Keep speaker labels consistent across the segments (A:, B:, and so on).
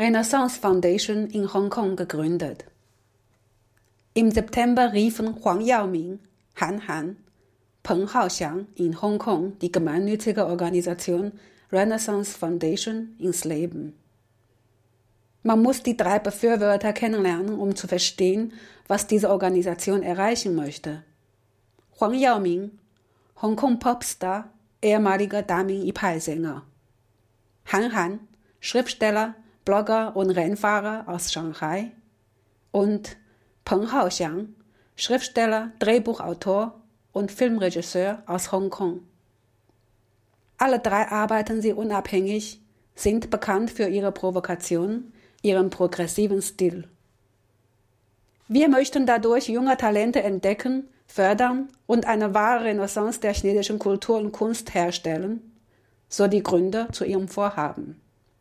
A: Renaissance Foundation in Hongkong gegründet. Im September riefen Huang Yaoming, Han Han, Peng Haoxiang in Hongkong die gemeinnützige Organisation Renaissance Foundation ins Leben. Man muss die 3 Befürworter kennenlernen, um zu verstehen, was diese Organisation erreichen möchte. Huang Yaoming, Hongkong-Popstar, ehemaliger Damin-Ipai-Sänger. Han Han, Schriftsteller, Blogger und Rennfahrer aus Shanghai. Und Peng Haoxiang, Schriftsteller, Drehbuchautor und Filmregisseur aus Hongkong. Alle 3 arbeiten sie unabhängig, sind bekannt für ihre Provokation, ihren progressiven Stil. Wir möchten dadurch junge Talente entdecken, fördern und eine wahre Renaissance der chinesischen Kultur und Kunst herstellen, so die Gründer zu ihrem Vorhaben.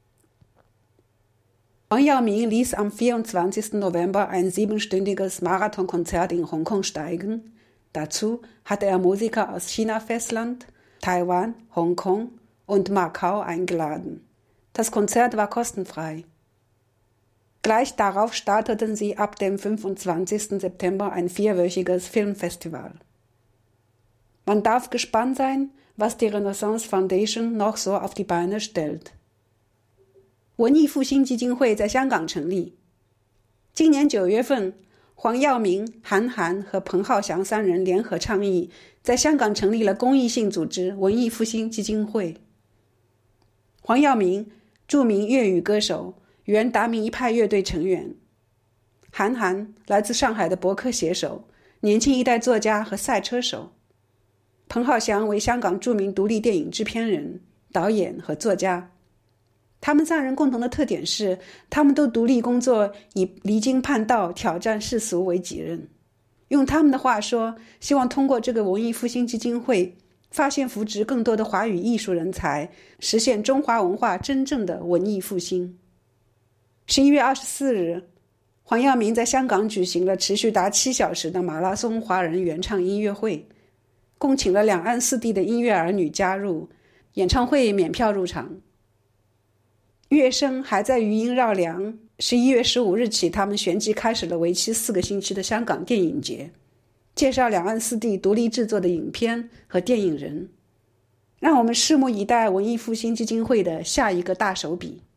A: Huang Yaoming ließ am 24. November ein 7-stündiges Marathonkonzert in Hongkong steigen. Dazu hatte er Musiker aus China-Festland, Taiwan, Hongkong und Macau eingeladen. Das Konzert war kostenfrei. Gleich darauf starteten sie ab dem 25. September ein 4-wöchiges Filmfestival. Man darf gespannt sein, was die Renaissance Foundation noch so auf die Beine stellt.
B: 文艺复兴基金会在香港成立。今年9月份，黄耀明、韩寒和彭浩翔3人联合倡议，在香港成立了公益性组织文艺复兴基金会。黄耀明，著名粤语歌手，原达明一派乐队成员；韩寒，来自上海的博客写手，年轻一代作家和赛车手；彭浩翔为香港著名独立电影制片人、导演和作家。他们3人共同的特点是，他们都独立工作，以离经叛道、挑战世俗为己任。用他们的话说，希望通过这个文艺复兴基金会，发现扶植更多的华语艺术人才，实现中华文化真正的文艺复兴。11月24日，黄耀明在香港举行了持续达7小时的马拉松华人原创音乐会，共请了两岸4地的音乐儿女加入，演唱会免票入场。乐声还在余音绕梁。11月15日起，他们旋即开始了为期4个星期的香港电影节，介绍两岸4地独立制作的影片和电影人。让我们拭目以待文艺复兴基金会的下一个大手笔。